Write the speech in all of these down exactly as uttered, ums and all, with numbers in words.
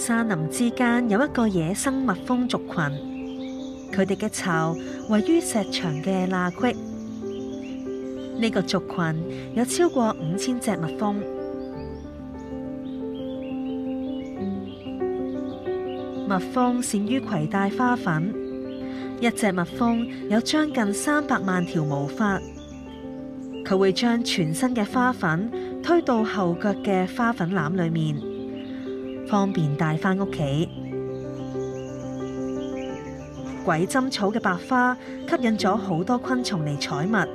山林之間有一個野生蜜蜂族群，佢哋嘅巢位於石牆嘅罅隙。呢個族群有超過五千隻蜜蜂。蜜蜂善於攜帶花粉，一隻蜜蜂有將近三百萬條毛髮。佢會將全身嘅花粉推到後腳嘅花粉籃裏面，方便帶返屋企。鬼針草嘅白花吸引咗好多昆蟲嚟採蜜，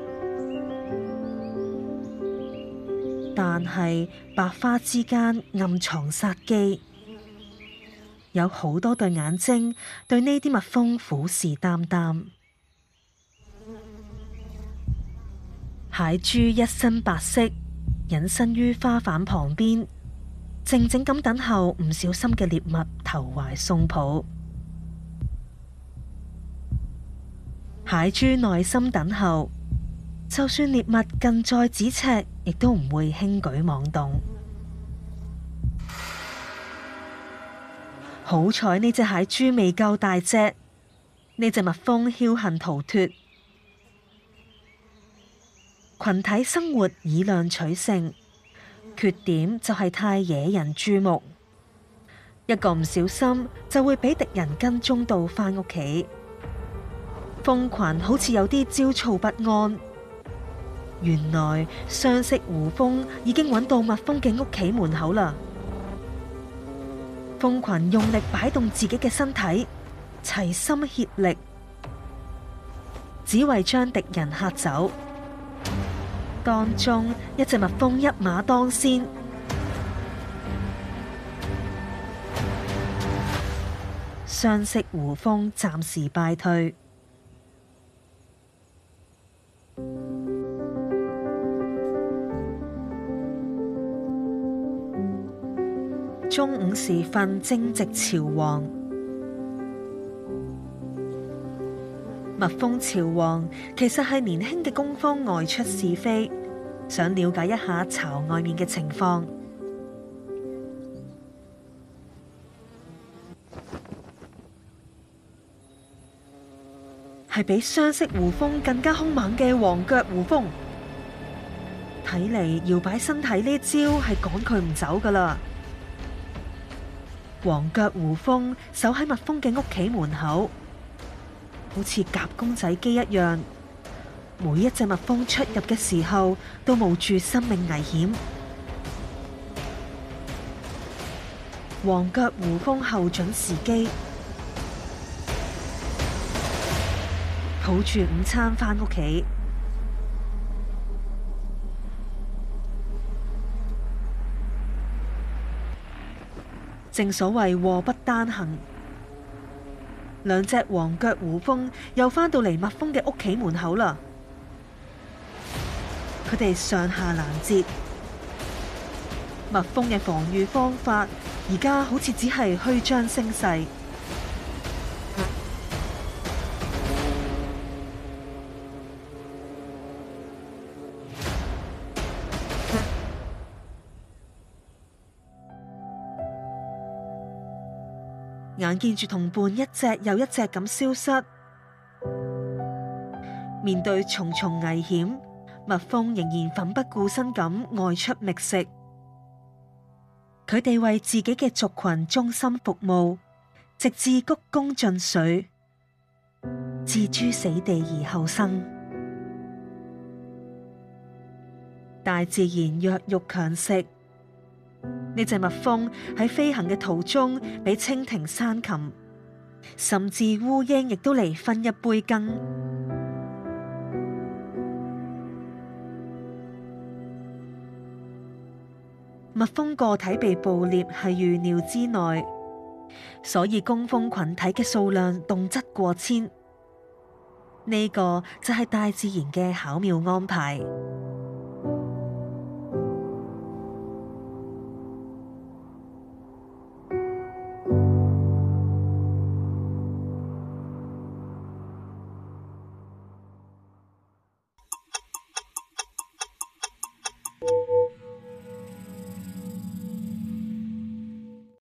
但係白花之間暗藏殺機，有好多對眼睛對呢啲蜜蜂虎視眈眈。蟹豬一身白色，隱身於花瓣旁邊，靜靜咁等候唔小心嘅獵物投懷送抱。蟹豬耐心等候，就算獵物近在咫尺，亦都唔會輕舉妄動。好彩呢隻蟹豬未夠大隻，呢隻蜜蜂僥倖逃脫。群體生活以量取勝，缺點就係太惹人注目，一個唔小心就會俾敵人跟蹤到返屋企。蜂群好似有啲焦躁不安，原來雙色胡蜂已經揾到蜜蜂嘅屋企門口啦。蜂群用力擺動自己嘅身體，齊心協力，只為將敵人嚇走。當中一隻蜜蜂一馬當先，雙色胡蜂暫時敗退。中午時分正值朝黃，蜜蜂朝黃其實係年輕嘅工蜂外出試飛，想了解一下巢外面嘅情況。係比雙色胡蜂更加兇猛嘅黃腳胡蜂，睇嚟搖擺身體呢招係趕佢唔走㗎喇。黃腳胡蜂守喺蜜蜂嘅屋企門口，好似夾公仔機一樣，每一隻蜜蜂出入嘅時候都冒住生命危險。黃腳胡蜂候準時機，抱住午餐返屋企。正所謂禍不單行，兩隻黃腳胡蜂又返到嚟蜜蜂嘅屋企門口啦。佢哋上下攔截，蜜蜂嘅防禦方法而家好似只係虛張聲勢。眼見住同伴一隻又一隻咁消失，面對重重危險，蜜蜂仍然奮不顧身咁外出覓食。佢哋為自己嘅族群忠心服務，直至鞠躬盡瘁，置諸死地而後生。大自然弱肉強食。呢隻蜜蜂喺飛行嘅途中，俾蜻蜓、山禽，甚至烏蠅亦都嚟分一杯羹。蜜蜂個體被捕獵係預料之內，所以工蜂群體嘅數量動輒過千。呢個就係大自然嘅巧妙安排。